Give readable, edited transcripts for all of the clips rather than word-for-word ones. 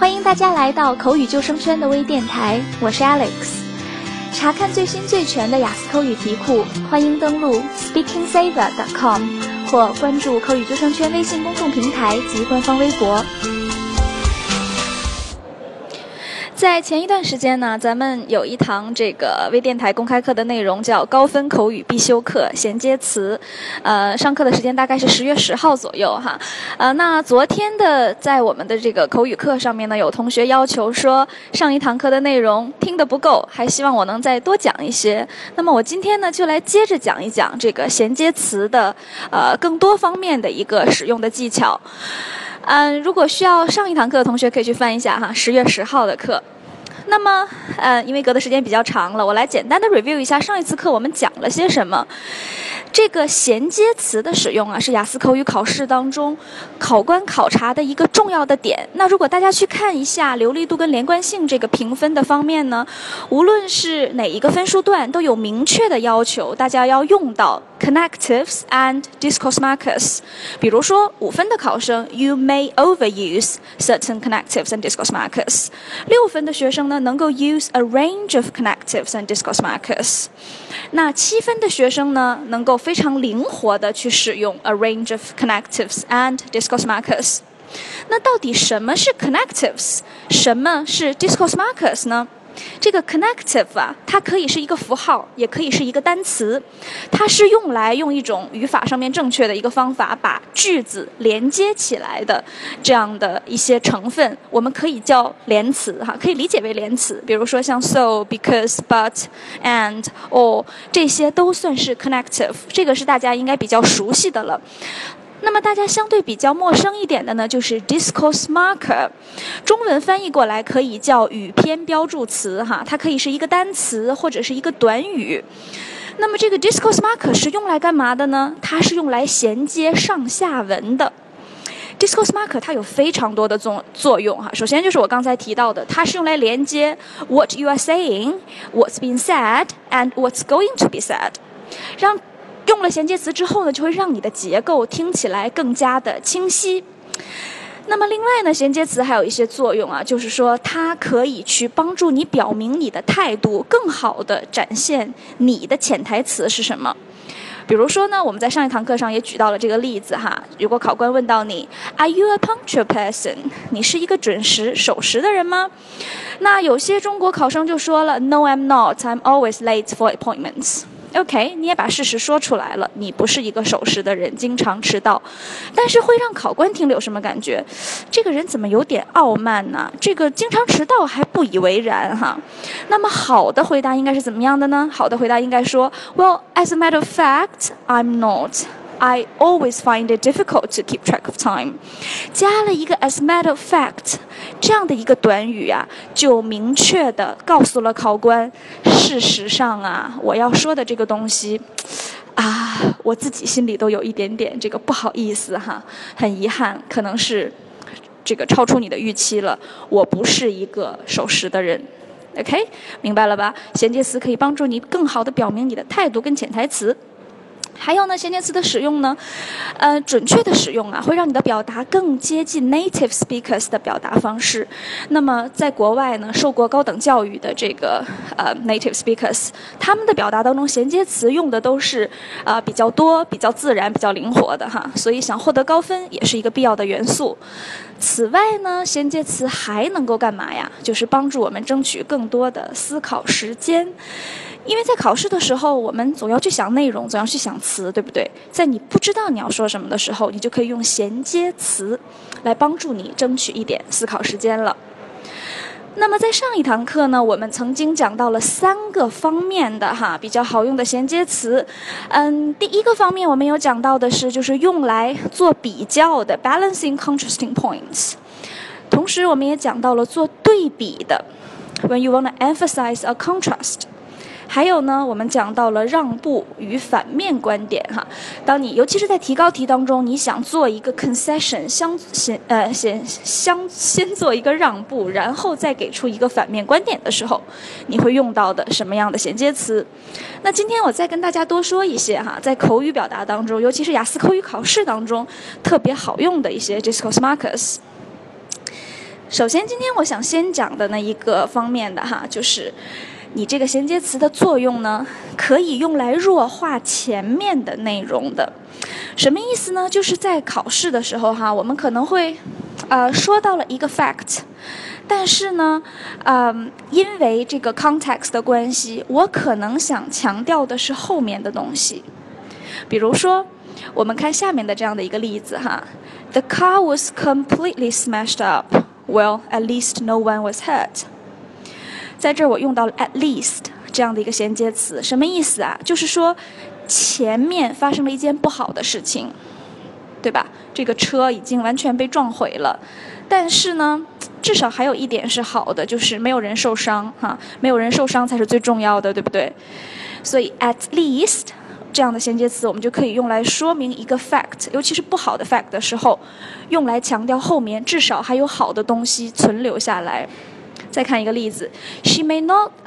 欢迎大家来到口语救生圈的微电台，我是 Alex。查看最新最全的雅思口语题库，欢迎登录 speakingsaver.com 或关注口语救生圈微信公众平台及官方微博。在前一段时间呢，咱们有一堂这个微电台公开课的内容叫高分口语必修课衔接词，上课的时间大概是10月10号左右哈。那昨天的在我们的这个口语课上面呢，有同学要求说上一堂课的内容听得不够，还希望我能再多讲一些。那么我今天呢就来接着讲一讲这个衔接词的更多方面的一个使用的技巧。如果需要上一堂课的同学可以去翻一下哈，10月10号的课。那么，因为隔的时间比较长了，我来简单的 review 一下上一次课我们讲了些什么。这个衔接词的使用啊，是雅思口语考试当中考官考察的一个重要的点。那如果大家去看一下流利度跟连贯性这个评分的方面呢，无论是哪一个分数段都有明确的要求，大家要用到 connectives and discourse markers。比如说5分的考生 ，you may overuse certain connectives and discourse markers。6分的学生呢，能够 use a range of connectives and discourse markers。那7分的学生呢，能够非常灵活的去使用 a range of connectives and discourse markers。那到底什么是 connectives， 什么是 discourse markers 呢？这个 connective 啊，它可以是一个符号，也可以是一个单词，它是用来用一种语法上面正确的一个方法把句子连接起来的这样的一些成分，我们可以叫连词哈，可以理解为连词。比如说像 so, because, but, and, or 这些都算是 connective， 这个是大家应该比较熟悉的了。那么大家相对比较陌生一点的呢，就是 discourse marker， 中文翻译过来可以叫语篇标注词哈，它可以是一个单词或者是一个短语。那么这个 discourse marker 是用来干嘛的呢？它是用来衔接上下文的。discourse marker 它有非常多的作用哈，首先就是我刚才提到的，它是用来连接 what you are saying, what's been said, and what's going to be said， 让用了衔接词之后呢，就会让你的结构听起来更加的清晰。那么另外呢，衔接词还有一些作用啊，就是说它可以去帮助你表明你的态度，更好的展现你的潜台词是什么。比如说呢，我们在上一堂课上也举到了这个例子哈，如果考官问到你 Are you a punctual person？ 你是一个准时守时的人吗？那有些中国考生就说了 No, I'm not. I'm always late for appointments。OK， 你也把事实说出来了，你不是一个守时的人，经常迟到，但是会让考官听了有什么感觉？这个人怎么有点傲慢呢？这个经常迟到还不以为然哈。那么好的回答应该是怎么样的呢？好的回答应该说 Well, as a matter of fact, I'm not.I always find it difficult to keep track of time。 加了一个 as matter of fact 这样的一个短语啊，就明确地告诉了考官，事实上啊，我要说的这个东西啊，我自己心里都有一点点这个不好意思哈，很遗憾，可能是这个超出你的预期了，我不是一个守时的人。OK， 明白了吧？衔接词可以帮助你更好地表明你的态度跟潜台词。还有呢，衔接词的使用呢，准确的使用啊，会让你的表达更接近 native speakers 的表达方式。那么在国外呢，受过高等教育的这个native speakers， 他们的表达当中，衔接词用的都是比较多、比较自然、比较灵活的哈。所以想获得高分也是一个必要的元素。此外呢，衔接词还能够干嘛呀？就是帮助我们争取更多的思考时间。因为在考试的时候，我们总要去想内容，总要去想词，对不对？在你不知道你要说什么的时候，你就可以用衔接词来帮助你争取一点思考时间了。那么在上一堂课呢，我们曾经讲到了3个方面的比较好用的衔接词。第一个方面我们有讲到的是，就是用来做比较的 balancing contrasting points。同时我们也讲到了做对比的 when you want to emphasize a contrast。还有呢，我们讲到了让步与反面观点哈。当你尤其是在提高题当中，你想做一个 concession， 先做一个让步，然后再给出一个反面观点的时候，你会用到的什么样的衔接词？那今天我再跟大家多说一些哈，在口语表达当中，尤其是雅思口语考试当中特别好用的一些 discourse markers。 首先今天我想先讲的那一个方面的哈，就是你这个衔接词的作用呢，可以用来弱化前面的内容的。什么意思呢？就是在考试的时候哈，我们可能会说到了一个 fact， 但是呢因为这个 context 的关系，我可能想强调的是后面的东西。比如说我们看下面的这样的一个例子哈， The car was completely smashed up. Well, at least no one was hurt. 在这儿我用到了 at least 这样的一个衔接词，什么意思啊？就是说前面发生了一件不好的事情，对吧？这个车已经完全被撞毁了，但是呢至少还有一点是好的，就是没有人受伤哈，没有人受伤才是最重要的，对不对？所以 at least 这样的衔接词我们就可以用来说明一个 fact， 尤其是不好的 fact 的时候，用来强调后面至少还有好的东西存留下来。再看一个例子 she may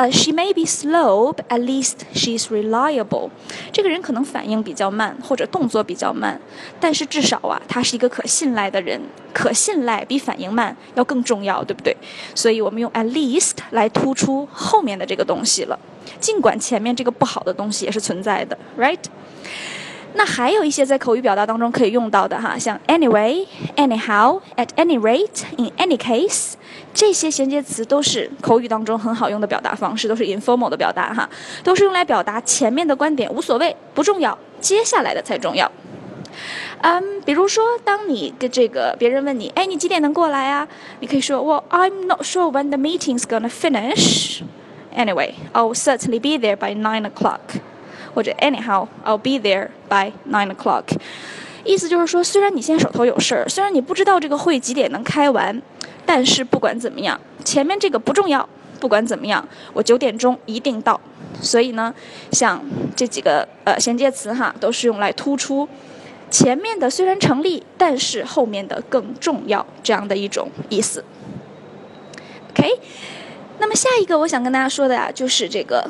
be slow, but at least she's reliable. 这个人可能反应比较慢，或者动作比较慢，但是至少她是一个可信赖的人。可信赖比反应慢要更重要，对不对？所以我们用 at least 来突出后面的这个东西了，尽管前面这个不好的东西也是存在的 right？ 那还有一些在口语表达当中可以用到的哈，像 anyway, anyhow, at any rate, in any case， 这些衔接词都是口语当中很好用的表达方式，都是 informal 的表达哈，都是用来表达前面的观点无所谓不重要，接下来的才重要。比如说当你跟这个别人问你，哎，你几点能过来啊？你可以说 Well, I'm not sure when the meeting's gonna finish. Anyway, I'll certainly be there by 9 o'clock. 或者 anyhow, I'll be there by 9 o'clock. 意思就是说，虽然你现在手头有事儿，虽然你不知道这个会几点能开完，但是不管怎么样，前面这个不重要，不管怎么样，我9点钟一定到。所以呢，像这几个衔接词哈，都是用来突出前面的虽然成立，但是后面的更重要这样的一种意思。OK， 那么下一个我想跟大家说的呀，就是这个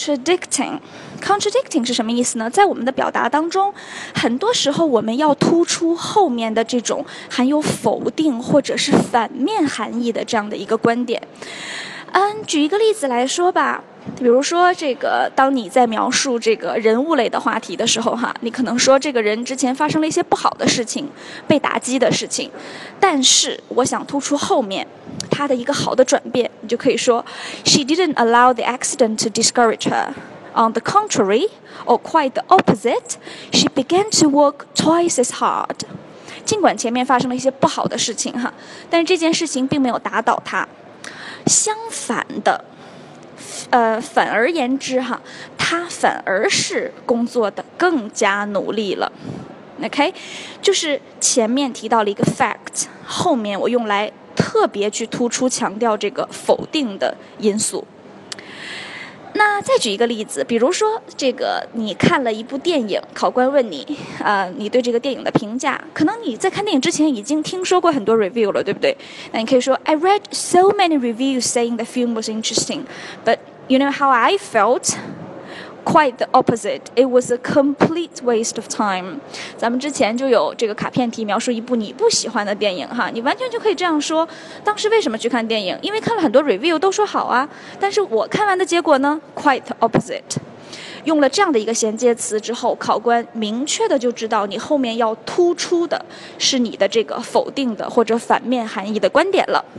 contradicting。contradicting 是什么意思呢？在我们的表达当中，很多时候我们要突出后面的这种含有否定或者是反面含义的这样的一个观点。举一个例子来说吧，比如说这个，当你在描述这个人物类的话题的时候哈，你可能说这个人之前发生了一些不好的事情，被打击的事情，但是我想突出后面他的一个好的转变，你就可以说 She didn't allow the accident to discourage her. On the contrary, or quite the opposite, she began to work twice as hard. 尽管前面发生了一些不好的事情哈，但是这件事情并没有打倒她。相反的，反而言之哈，她反而是工作的更加努力了。OK， 就是前面提到了一个 fact， 后面我用来特别去突出强调这个否定的因素。那再举一个例子，比如说这个你看了一部电影，考官问你你对这个电影的评价，可能你在看电影之前已经听说过很多 review 了，对不对？那你可以说 I read so many reviews saying the film was interesting, but you know how I felt? Quite the opposite. It was a complete waste of time. 咱们之前就有这个卡片题描述一部你不喜欢的电影哈，你完全就可以这样说，当时为什么去看电影？因为看了很多 review 都说好啊，但是我看完的结果呢 quite the opposite。 用了这样的一个衔接词之后，考官明确的就知道你后面要突出的是你的这个否定的或者反面含义的观点了。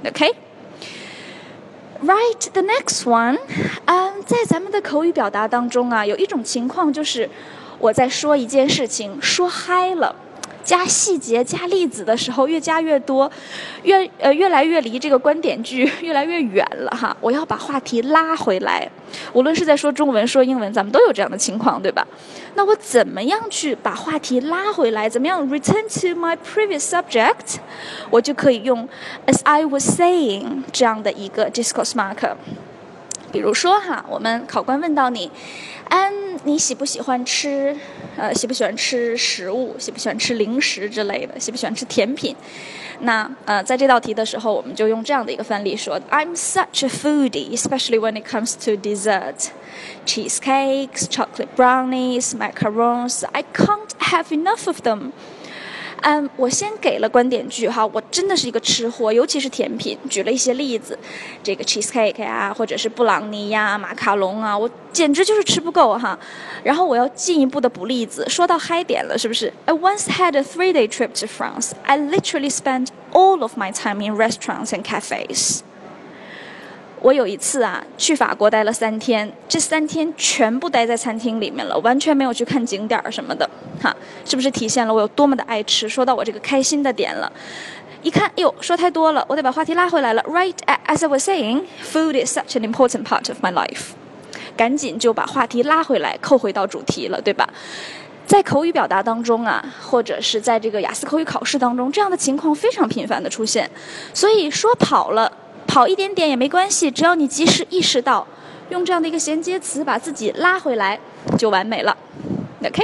OK，Right, the next one. 在咱们的口语表达当中啊，有一种情况就是我在说一件事情说嗨了，加细节加例子的时候越加越多，越来越离这个观点句越来越远了哈。我要把话题拉回来，无论是在说中文说英文，咱们都有这样的情况，对吧？那我怎么样去把话题拉回来？怎么样 return to my previous subject？ 我就可以用 as I was saying 这样的一个 discourse marker。比如说哈，我们考官问到你，你喜不喜欢吃食物，喜不喜欢吃零食之类的，喜不喜欢吃甜品？那在这道题的时候，我们就用这样的一个范例说 I'm such a foodie, especially when it comes to dessert. Cheesecakes, chocolate brownies, macarons, I can't have enough of them. 我先给了观点句哈，我真的是一个吃货，尤其是甜品，举了一些例子，这个 cheesecake 呀，或者是布朗尼呀、马卡龙啊，我简直就是吃不够哈。然后我要进一步的补例子，说到嗨点了，是不是 ？I once had a 3-day trip to France. I literally spent all of my time in restaurants and cafes. 我有一次去法国待了3天，这3天全部待在餐厅里面了，完全没有去看景点什么的，哈，是不是体现了我有多么的爱吃？说到我这个开心的点了，一看，哟，说太多了，我得把话题拉回来了。Right as I was saying, food is such an important part of my life. 赶紧就把话题拉回来，扣回到主题了，对吧？在口语表达当中或者是在这个雅思口语考试当中，这样的情况非常频繁的出现，所以说跑一点点也没关系，只要你及时意识到，用这样的一个衔接词把自己拉回来，就完美了。OK?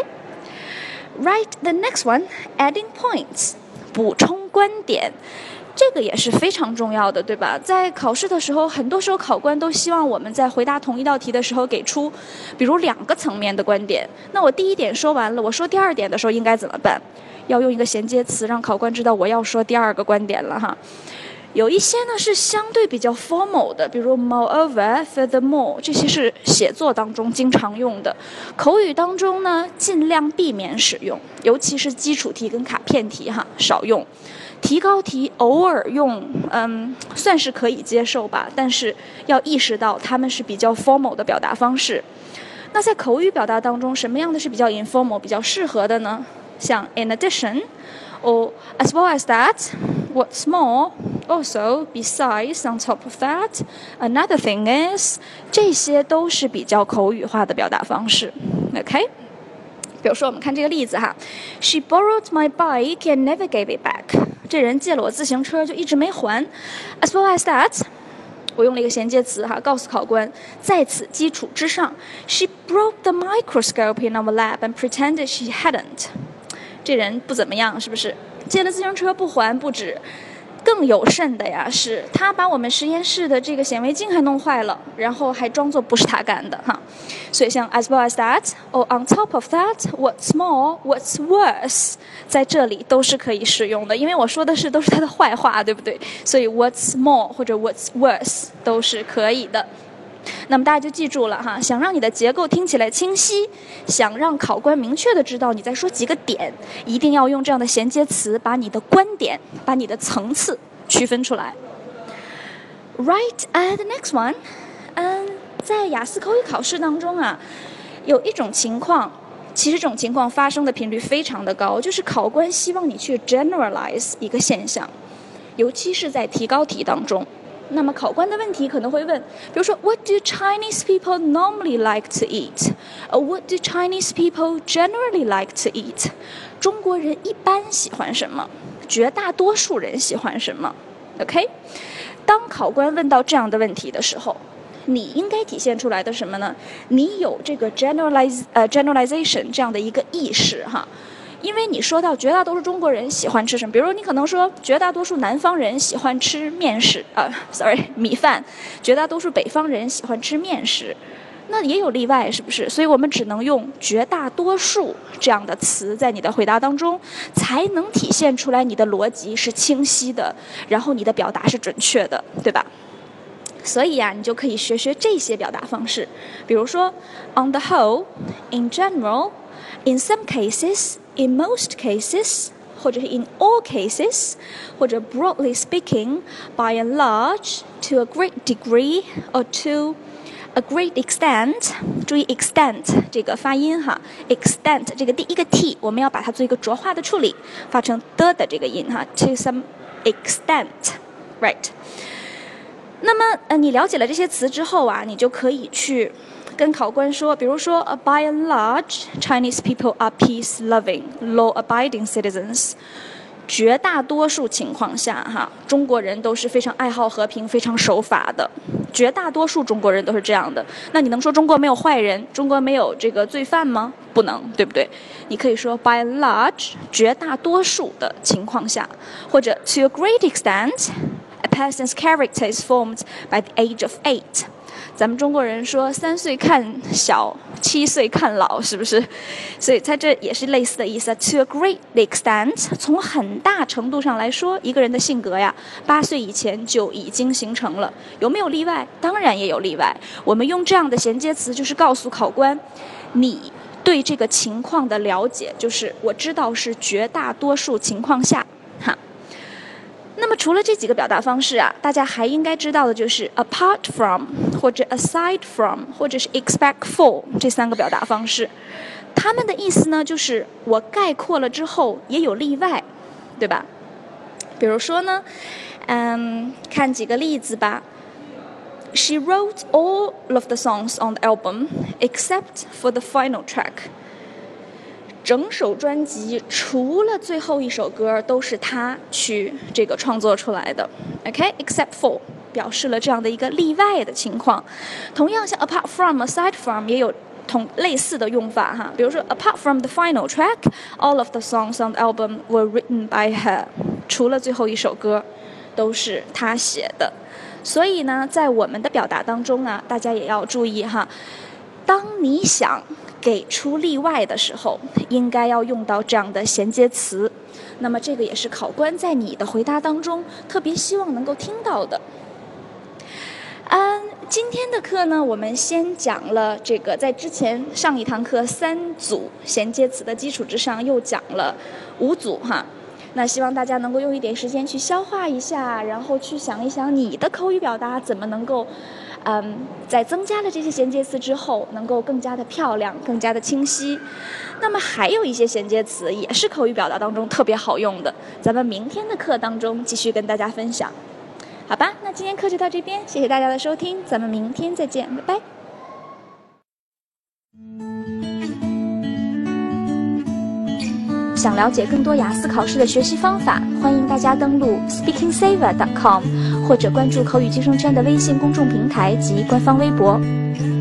Right, the next one, adding points, 补充观点。这个也是非常重要的，对吧？在考试的时候，很多时候考官都希望我们在回答同一道题的时候给出，比如2个层面的观点。那我第一点说完了，我说第2点的时候应该怎么办？要用一个衔接词让考官知道我要说第2个观点了哈。有一些呢是相对比较 formal 的，比如 moreover、furthermore， 这些是写作当中经常用的。口语当中呢，尽量避免使用，尤其是基础题跟卡片题少用。提高题偶尔用，算是可以接受吧，但是要意识到它们是比较 formal 的表达方式。那在口语表达当中，什么样的是比较 informal 比较适合的呢？像 in addition or as well as that, what's more, also, besides, on top of that, another thing is， 这些都是比较口语化的表达方式。 OK， 比如说我们看这个例子，She borrowed my bike and never gave it back。 这人借了我自行车就一直没还。 As well as that， 我用了一个衔接词告诉考官，在此基础之上 She broke the microscope in our lab and pretended she hadn't。 这人不怎么样，是不是？借了自行车不还不止，更有甚的呀，是他把我们实验室的这个显微镜还弄坏了，然后还装作不是他干的所以像 as well as that or on top of that, what's more, what's worse， 在这里都是可以使用的，因为我说的都是他的坏话，对不对？所以 what's more 或者 what's worse 都是可以的。那么大家就记住了想让你的结构听起来清晰，想让考官明确的知道你在说几个点，一定要用这样的衔接词把你的观点，把你的层次区分出来。Right, the next one， 在雅思口语考试当中有一种情况，其实这种情况发生的频率非常的高，就是考官希望你去 generalize 一个现象，尤其是在提高题当中。那么考官的问题可能会问，比如说 What do Chinese people normally like to eat? What do Chinese people generally like to eat? 中国人一般喜欢什么？绝大多数人喜欢什么？ OK？ 当考官问到这样的问题的时候，你应该体现出来的什么呢？你有这个 generalization 这样的一个意识因为你说到绝大多数中国人喜欢吃什么，比如你可能说绝大多数南方人喜欢吃米饭，绝大多数北方人喜欢吃面食，那也有例外，是不是？所以我们只能用绝大多数这样的词在你的回答当中，才能体现出来你的逻辑是清晰的，然后你的表达是准确的，对吧？所以你就可以学这些表达方式，比如说 on the whole, in general, in some cases, in most cases， 或者是 in all cases， 或者 broadly speaking, by and large, to a great degree, or to a great extent。 注意 extent 这个发音extent 这个第一个 t 我们要把它做一个浊化的处理，发成的这个音to some extent， right。 那么你了解了这些词之后你就可以去跟考官说，比如说 by and large, Chinese people are peace-loving, law-abiding citizens。 绝大多数情况下中国人都是非常爱好和平、非常守法的。绝大多数中国人都是这样的。那你能说中国没有坏人，中国没有这个罪犯吗？不能，对不对？你可以说 by and large， 绝大多数的情况下，或者 to a great extent，A person's character is formed by the age of 8. 咱们中国人说3岁看小，7岁看老，是不是？所以在这也是类似的意思。To a great extent， 从很大程度上来说，一个人的性格呀，8岁以前就已经形成了。有没有例外？当然也有例外。我们用这样的衔接词，就是告诉考官，你对这个情况的了解，就是我知道是绝大多数情况下，哈。那么除了这几个表达方式啊，大家还应该知道的就是 apart from 或者 aside from 或者是 except for 这3个表达方式。它们的意思呢，就是我概括了之后也有例外，对吧？比如说呢，看几个例子吧。She wrote all of the songs on the album except for the final track. 整首专辑除了最后一首歌都是他去这个创作出来的 ，OK？Except for 表示了这样的一个例外的情况。同样像 apart from、aside from 也有类似的用法哈。比如说 apart from the final track, all of the songs on the album were written by her. 除了最后一首歌都是他写的。所以呢，在我们的表达当中啊，大家也要注意哈。当你想给出例外的时候，应该要用到这样的衔接词。那么这个也是考官在你的回答当中特别希望能够听到的。今天的课呢，我们先讲了这个，在之前上一堂课3组衔接词的基础之上，又讲了5组哈。那希望大家能够用一点时间去消化一下，然后去想一想你的口语表达怎么能够在增加了这些衔接词之后，能够更加的漂亮，更加的清晰。那么还有一些衔接词也是口语表达当中特别好用的，咱们明天的课当中继续跟大家分享。好吧，那今天课就到这边，谢谢大家的收听，咱们明天再见，拜拜。想了解更多雅思考试的学习方法，欢迎大家登录 speakingsaver.com 或者关注口语计生圈的微信公众平台及官方微博。